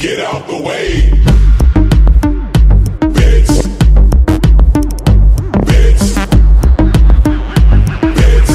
get out the way. Bitch. Bitch. Bitch.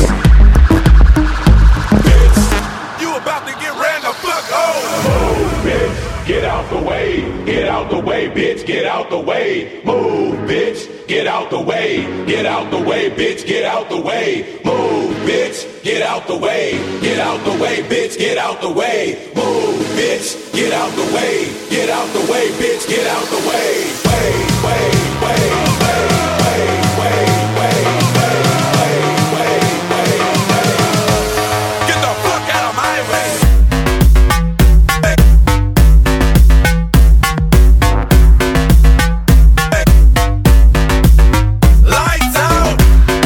Bitch. You about to get ran the fuck over. Move, bitch. Get out the way. Get out the way, bitch. Get out the way. Move, bitch. Get out the way. Get out the way, bitch. Get out the way. Move, bitch. Get out the way. Get out the way, bitch. Get out the way. Move, bitch. Get out the way. Get out the way, bitch. Get out the way. Way, way, way, way, way, way, way, way, way, way, way, way. Get the fuck out of my way. Lights out.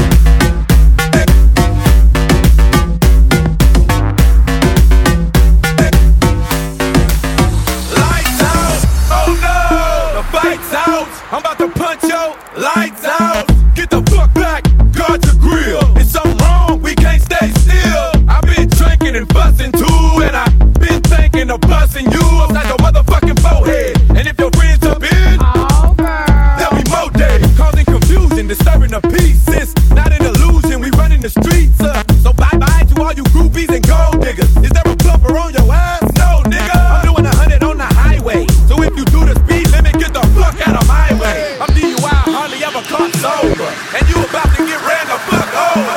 Lights out. Oh no, the fight's out. I'm about to punch your lights out. Get the fuck back, guard your grill. It's something wrong, we can't stay still. I've been drinking and fussing too, and I've been thinking of busting you upside your motherfucking forehead. And if your friends up in, there'll be more days. Causing confusion, disturbing the peace. It's not an illusion, we running the streets. So bye-bye to all you groupies and gold diggers. Is there a bumper on your ass? No, nigga. I'm doing 100 on the highway. So if you do the speed limit, get the fuck out of my way. I'm DUI, hardly ever caught sober. And you about to get ran the fuck over.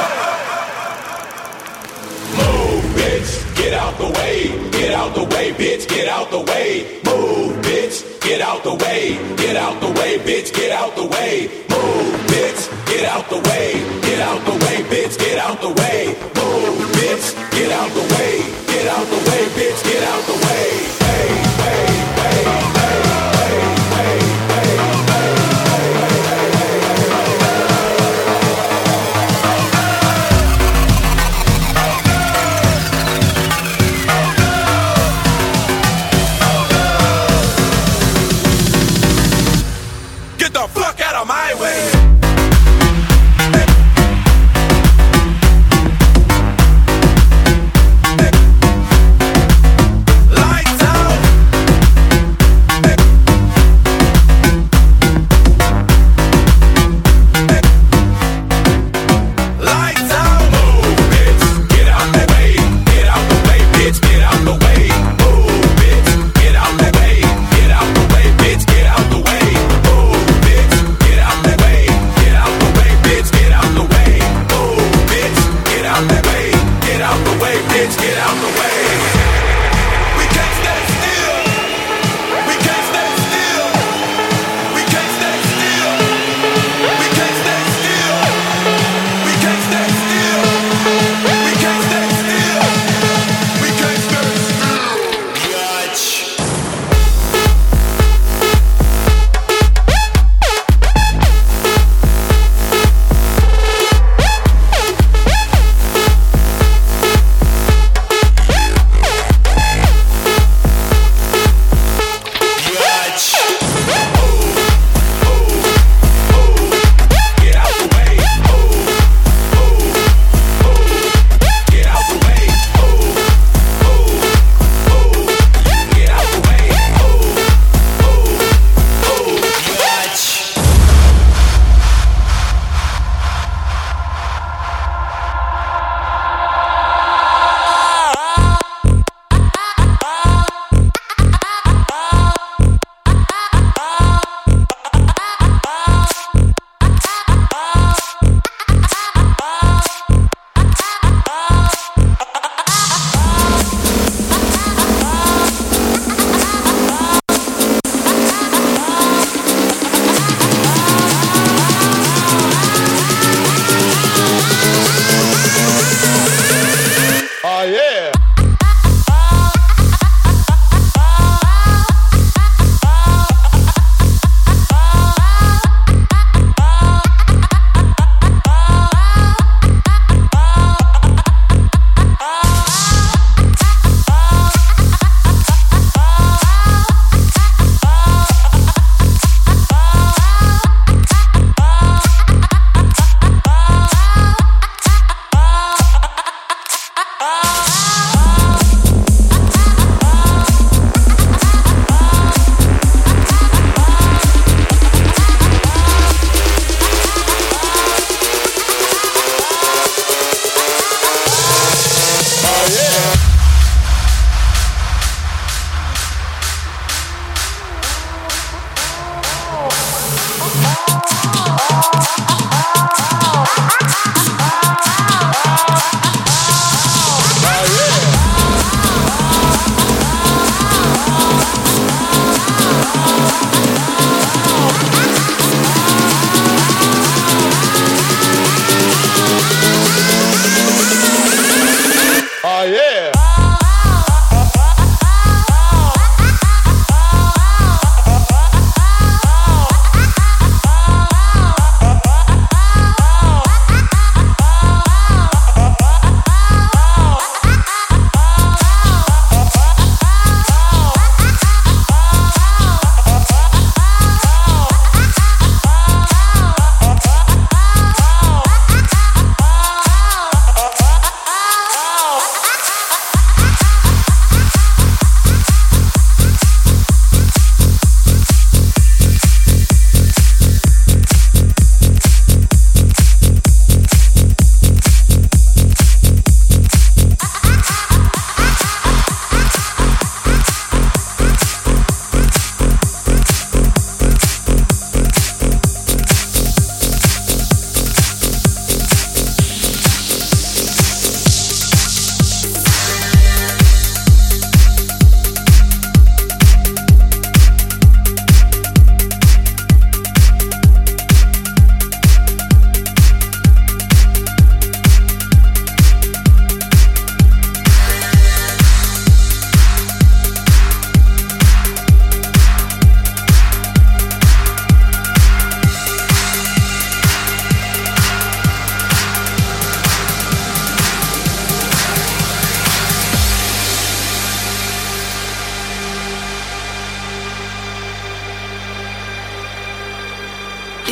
Move, bitch, get out the way. Get out the way, bitch, get out the way. Move, bitch, get out the way. Get out the way, bitch, get out the way. Move, bitch, get out the way. Get out the way, bitch, get out the way. Move, bitch, get out the way. Get out the way, bitch, get out the way. Hey, hey, hey, hey, hey, hey, hey, Get the fuck out of my way. Lights out. Lights out. move, bitch, get out the way. Get out the way, bitch, get out the way. Move, bitch, get out the way. Get out the way, bitch, get out the way. Move, bitch, get out the way.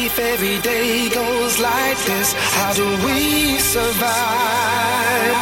If every day goes like this, how do we survive?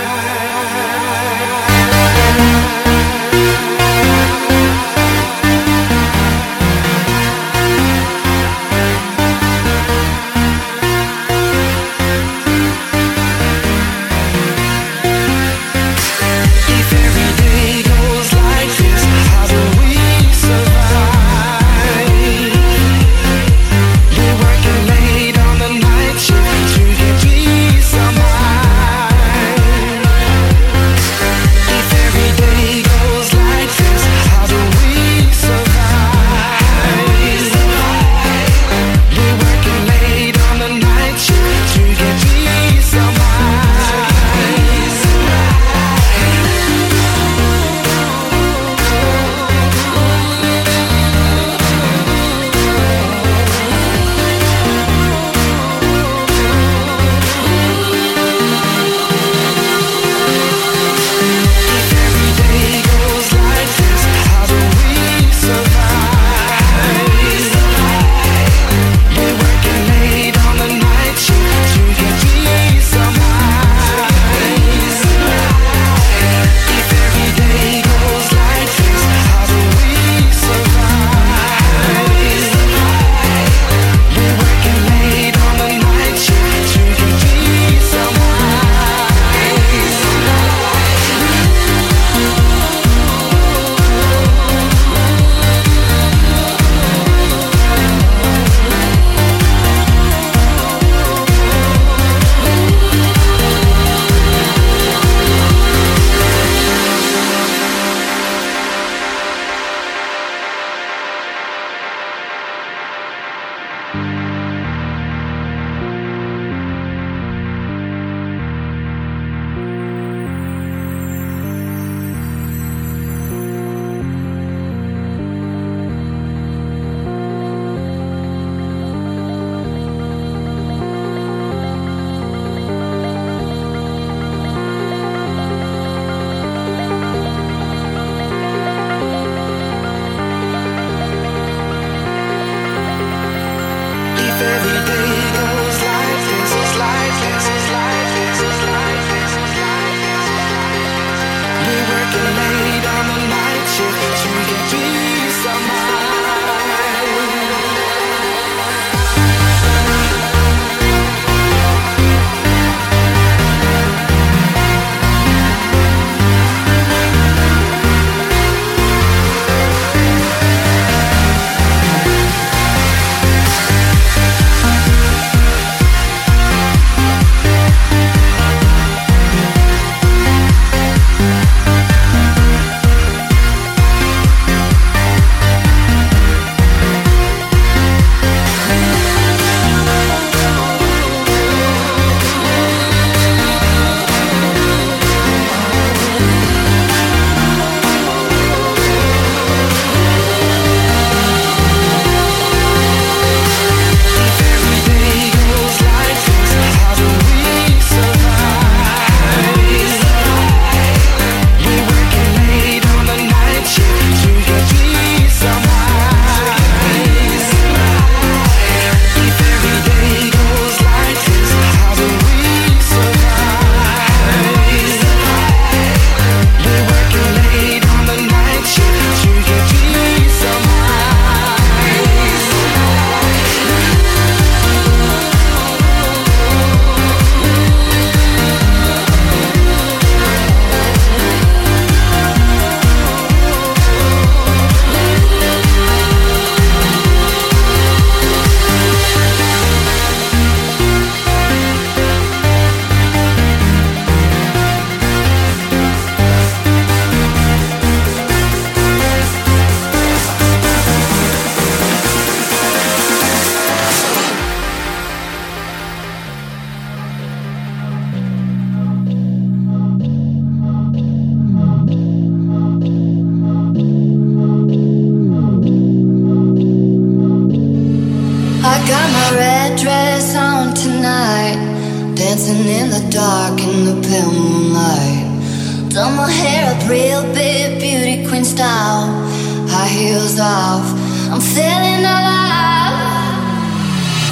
dancing in the dark in the pale moonlight. Done my hair up real big, beauty queen style. High heels off, I'm feeling alive.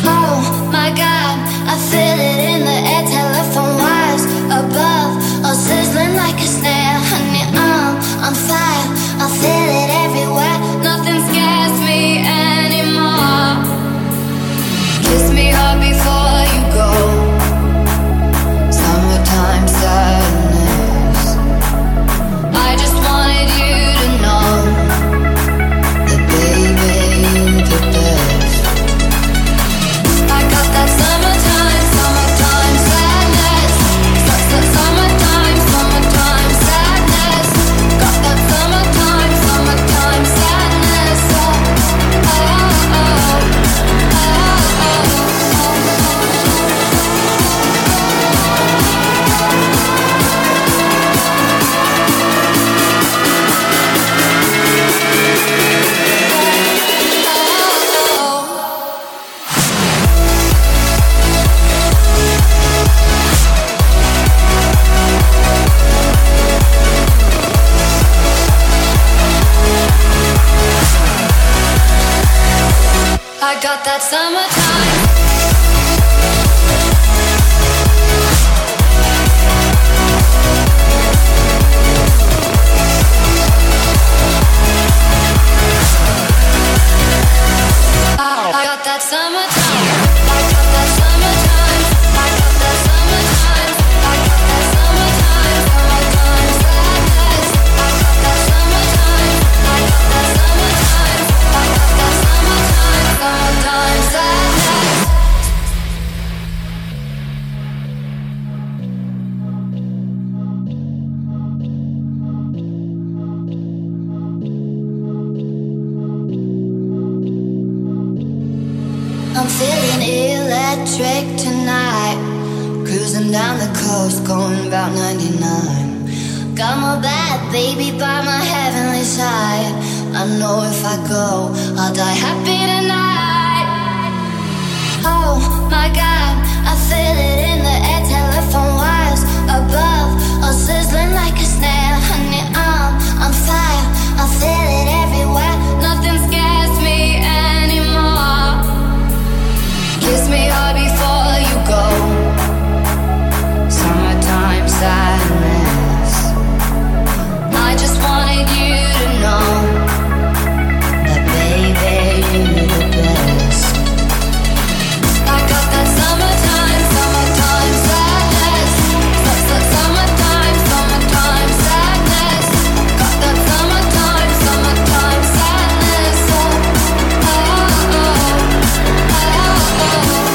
Oh my God, I feel it in the air, telephone wires above, all sizzling like a snare. Honey, I'm on fire, I feel it everywhere. Nothing scares me anymore. Kiss me hard before you go. Summertime sadness. I just wanted you to know that baby, you're the best. I got that summertime, summertime sadness. Summertime, summertime sadness. Got that summertime, summertime sadness. Oh, oh, oh, I got that summertime. I got that summertime. I got that summertime. I got that summertime. I got that summertime. Summertime sadness. I got that summertime. I got that summertime. I got that summertime. Summertime sadness. I'm feeling electric tonight. Cruising down the coast, going about 99. Got my bad baby by my heavenly side. I know if I go, I'll die happy tonight. Oh my God, I feel it in the air, telephone wires above, all sizzling like a snare. Honey, I'm on fire, I feel it everywhere. Nothing scares me anymore. Kiss me hard before you go. Summertime sadness. I just wanted you to know that baby, you're the best. I got that summertime, summertime sadness. Summertime, summertime sadness. Got that summertime, summertime sadness. Oh, oh, oh, oh, oh.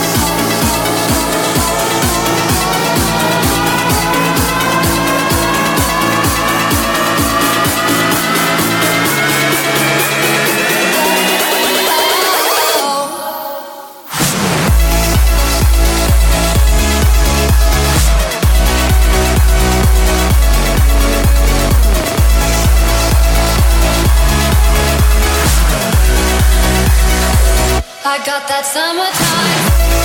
I got that summertime.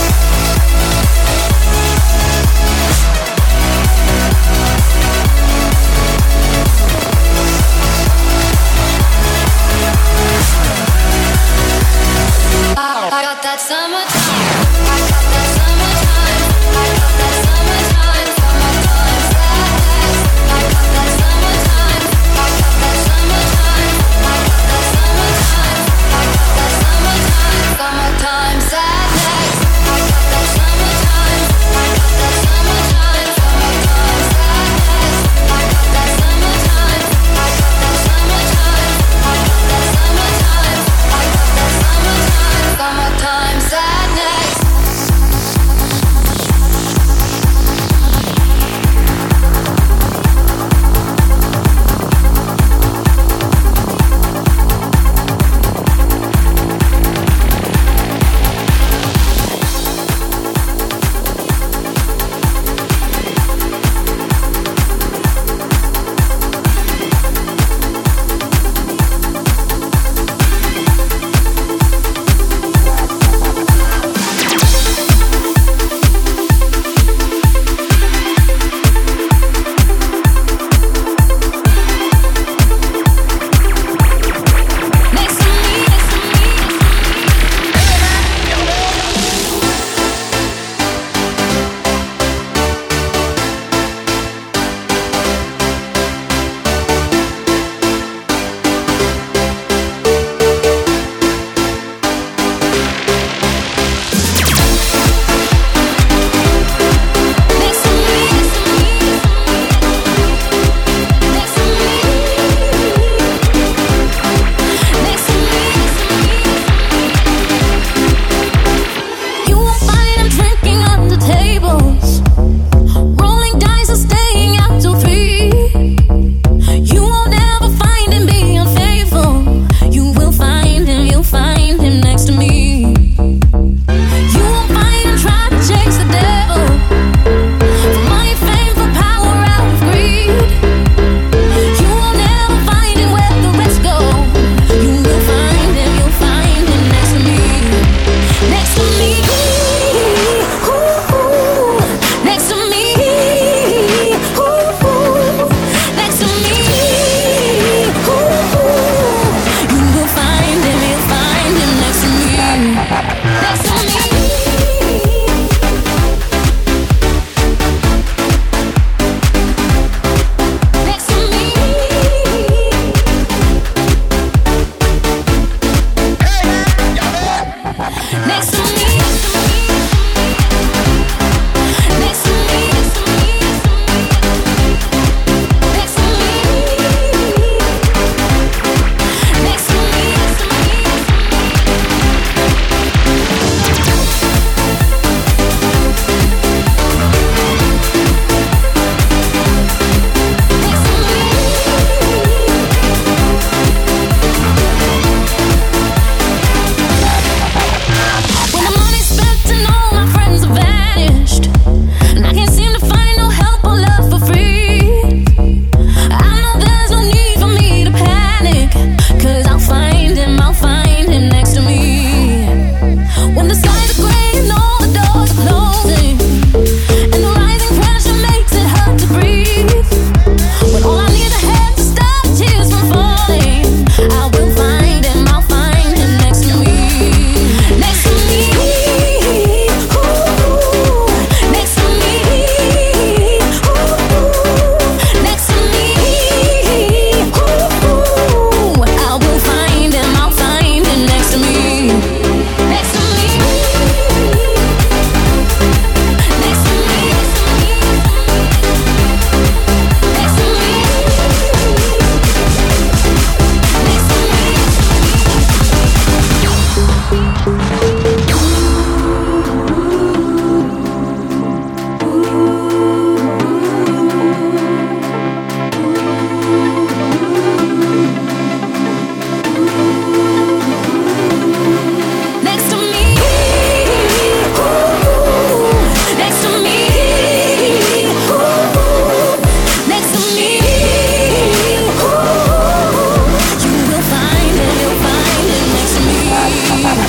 I got that summertime. I got that summertime. I got that summertime. Summertime sadness. I got that summertime. I got that summertime. I got that summertime. I got that summertime. Summertime sadness.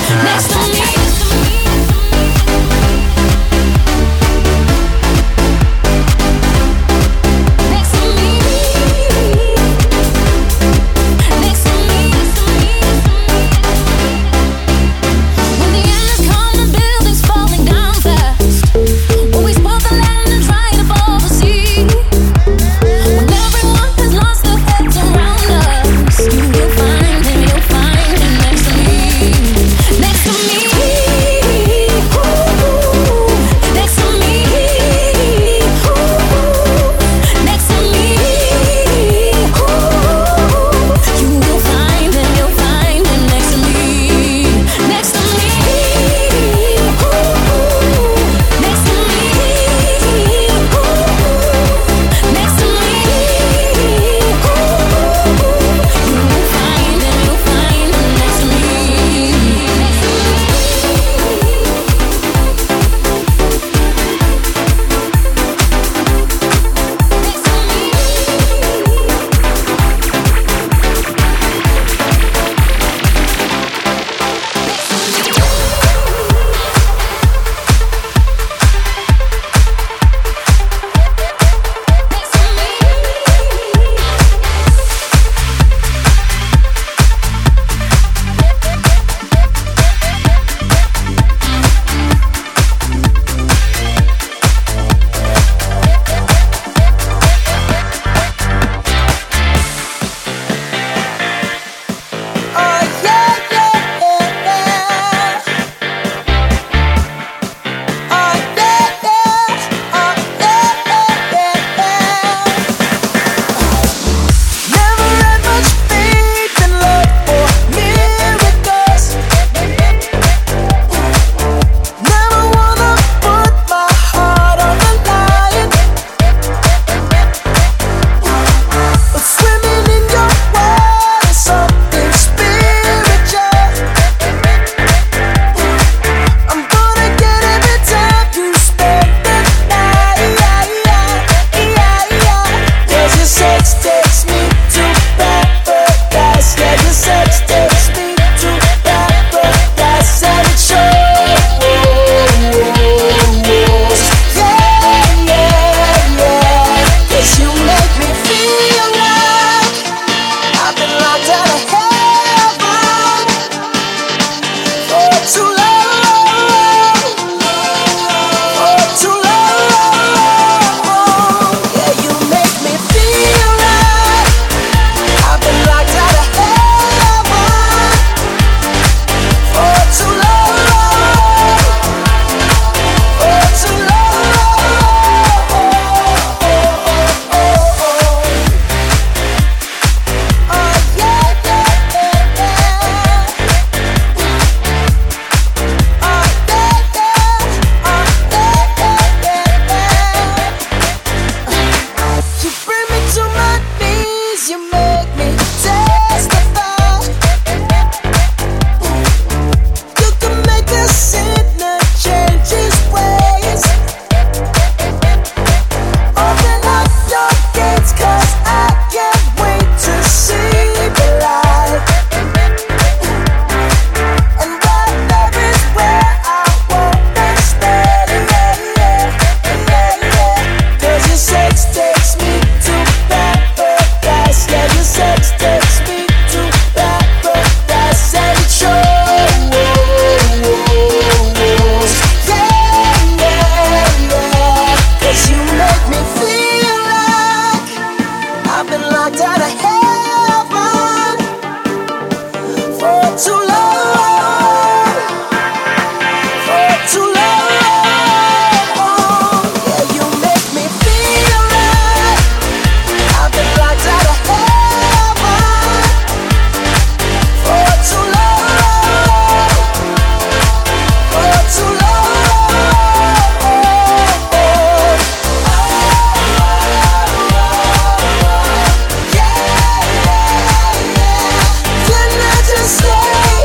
Say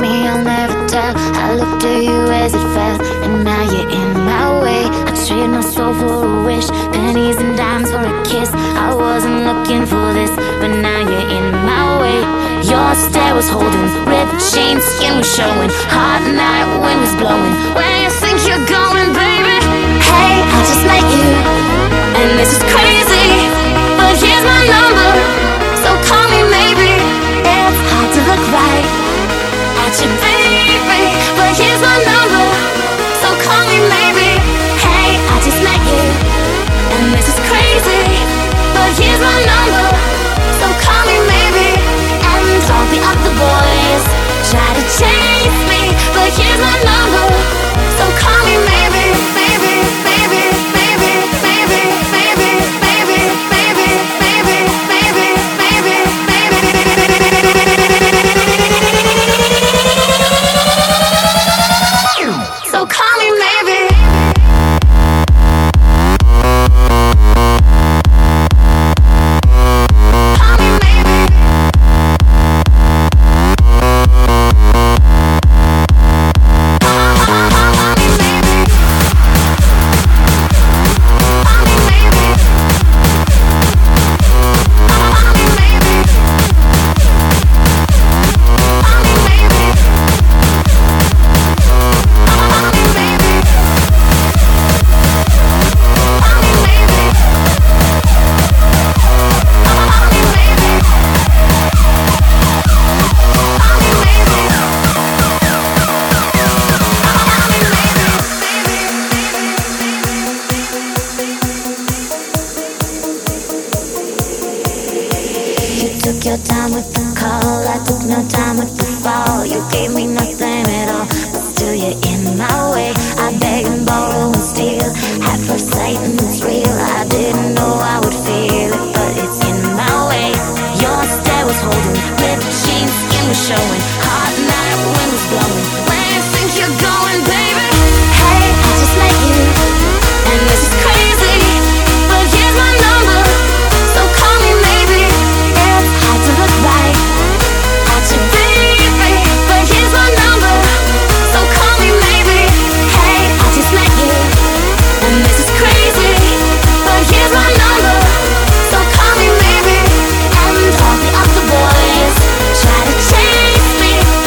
me, I'll never tell. I looked at you as it fell, and now you're in my way. I trade my soul for a wish, pennies and dimes for a kiss. I wasn't looking for this, but now you're in my way. Your stare was holding, ripped jeans, skin was showing. Hot night, wind was blowing. Where you think you're going, baby? Hey, I just met you, and this is crazy, but here's my number, so call me maybe. It's hard to look right at you, baby, but here's my number, so call me maybe. Hey, I just met you, and this is crazy, but here's my number, so call me maybe. And all the other boys try to chase me, but here's my number, so call me maybe, maybe, maybe, maybe, maybe, maybe, maybe, maybe, maybe, maybe, maybe, maybe. So call me maybe. Took your time with the call, I took no time with the fall. You gave me nothing at all, but still you're in my way. I beg and borrow and steal, at first sight and it's real. I didn't know I would feel it, but it's in my way. Your stare was holding, ripped jeans, skin was showing. Hot night, wind was blowing. Where you think you're going, baby? Hey, I just met you, and this is crazy, but here's my number, so call me maybe. Hard to look right at you, baby, but here's my number, so call me maybe. Hey, I just met you, and this is crazy, but here's my number, so call me maybe. And all the other boys try to chase me,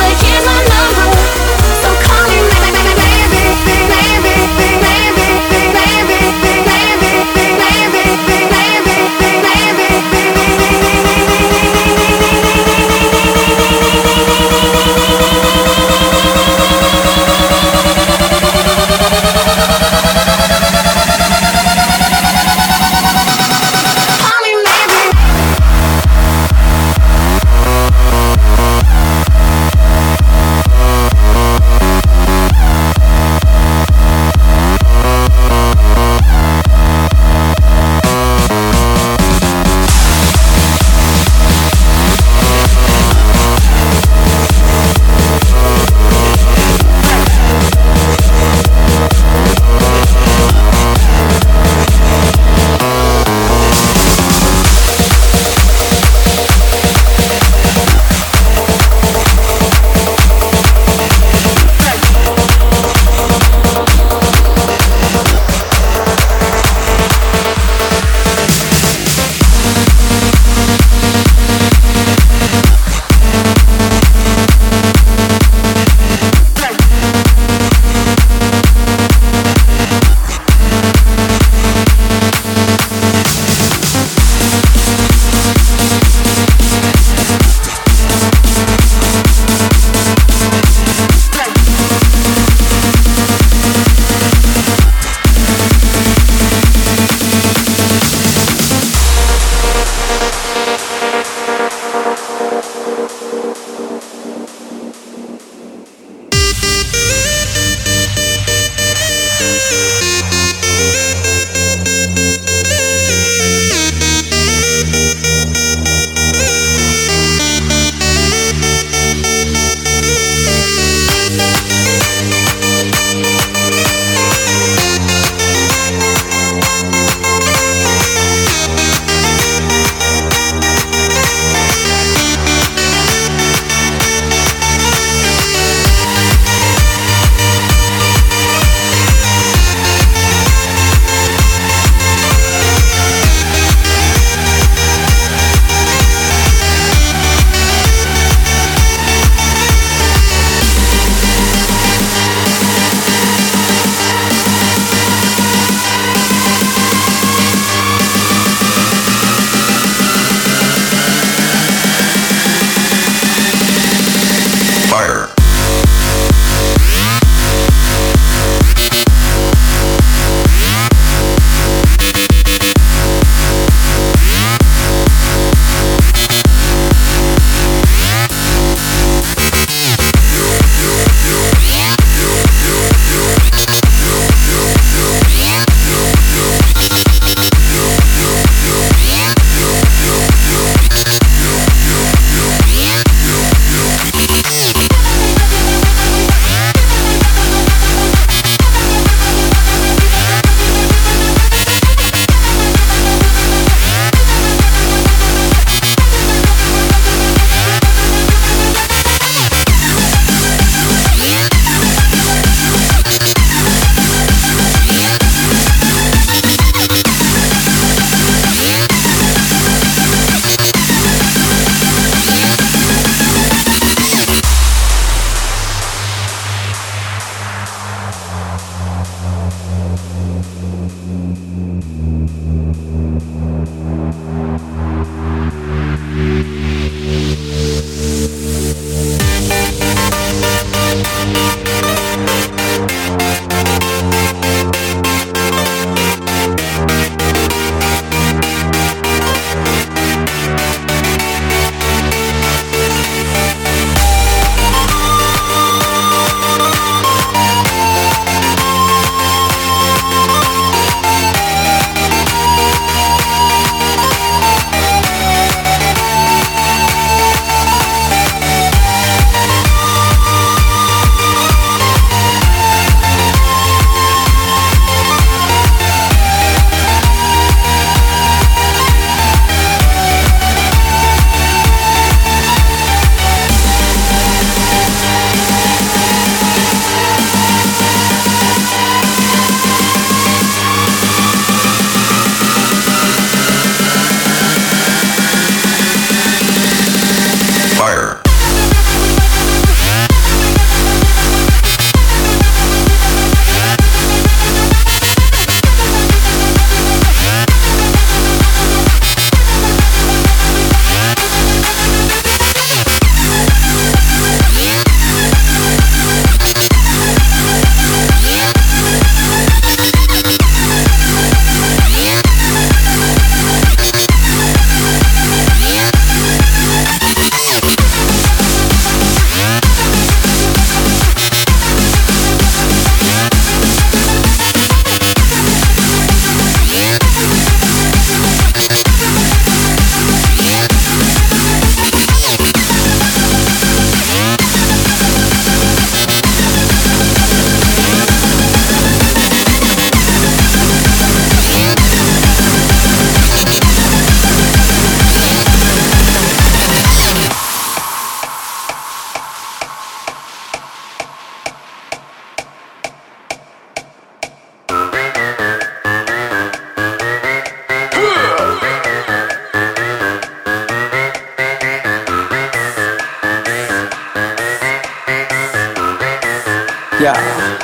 Yeah.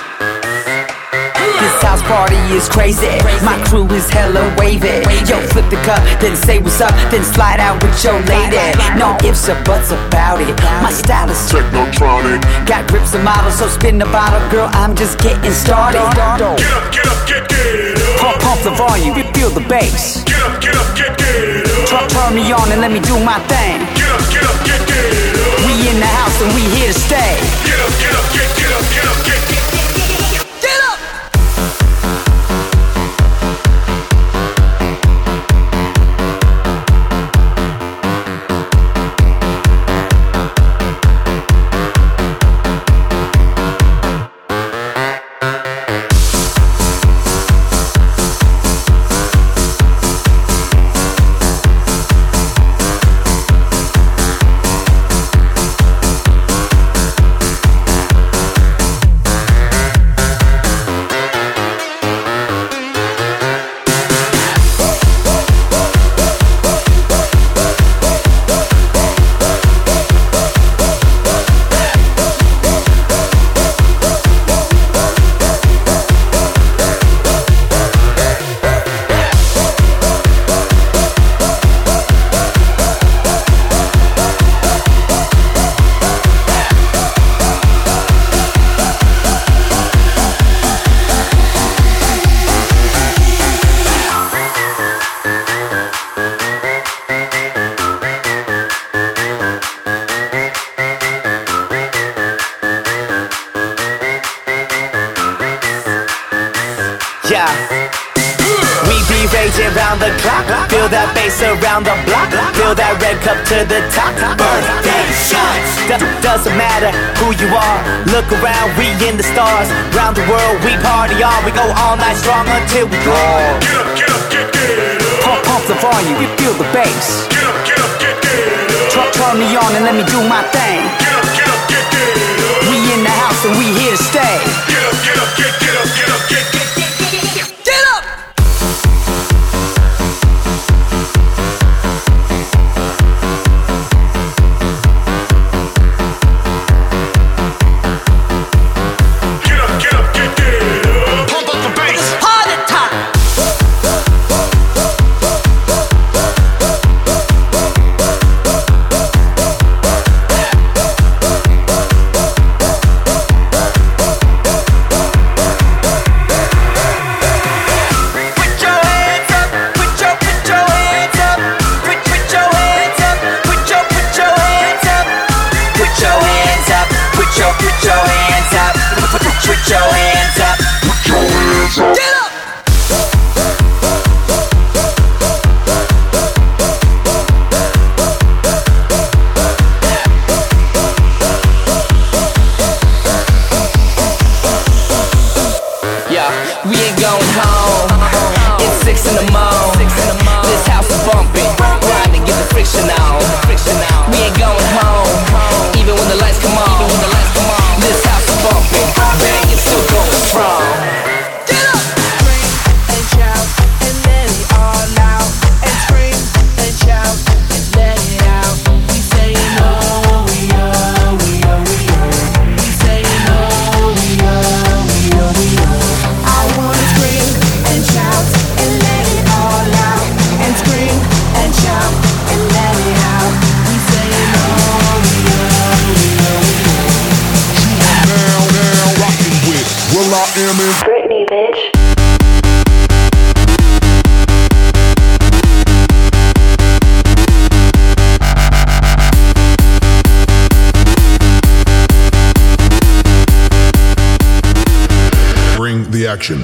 This house party is crazy. My crew is hella wavy. Yo, flip the cup, then say what's up, then slide out with your lady. No ifs or buts about it. My style is technotronic. Got grips and models, so spin the bottle, girl. I'm just getting started. Get up, get up. Pump the volume, feel the bass. Get up, get up. Turn me on and let me do my thing. Get up, get up. We in the house and we here to stay. Get up, get up, get up. Get up! Yeah. We be raging round the clock. Feel that bass around the block. Feel that red cup to the top. Birthday shots. Doesn't matter who you are. Look around, we in the stars. Round the world, we party on. We go all night strong until we draw. Get up, get up. Pump the volume, you feel the bass. Get up, get up. Turn me on and let me do my thing. Get up, get up. We in the house and we here to stay. Get up, get up. Get up! Pump up the bass. Party time! We ain't going home. It's 6 in the morning. This house is bumping. Grind and get the friction on. We ain't going home. Even when the lights come on. This house is bumping. Bang, it's still going strong. Get up! Scream and shout and let it all out. And scream and shout and let it out. We saying oh, we oh, we oh, we oh. We saying oh, we oh, we oh, we oh. I wanna scream and shout and let it all out. And scream and shout and let it out. We saying oh, we oh, we oh, we oh. Now rocking with Will I Am in Britney, bitch. Bring the action.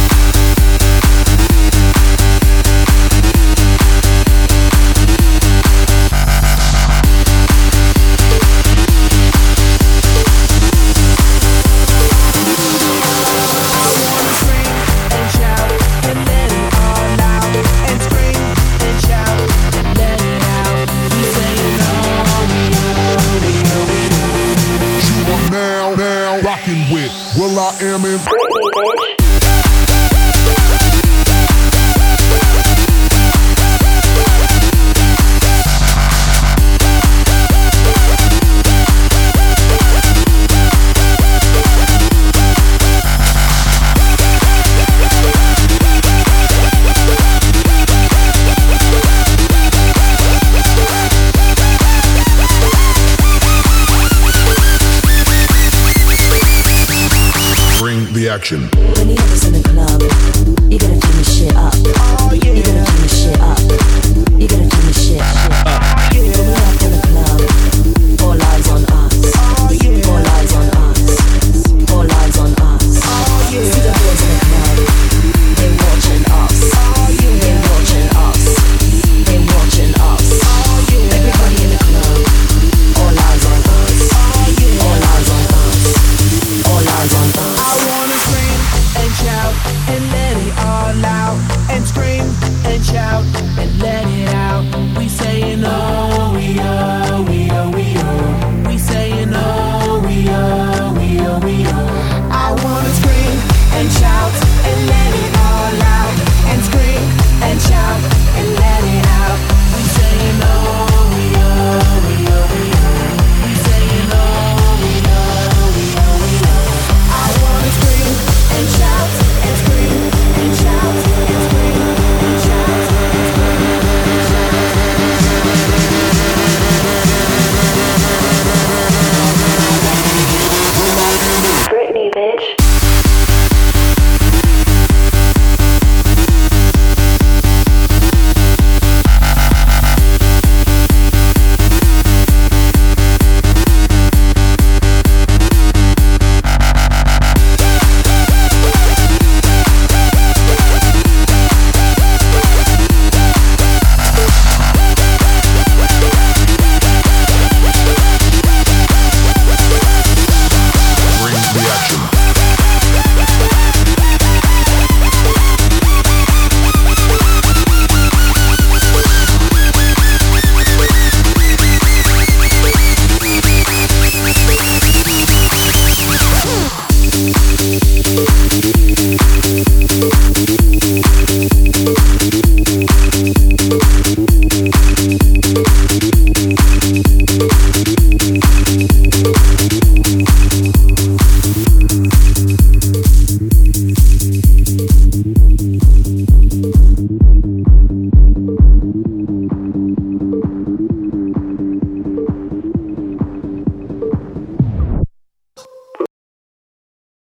Now rocking with Will I Am in Britney, bitch. satisfaction. Many of us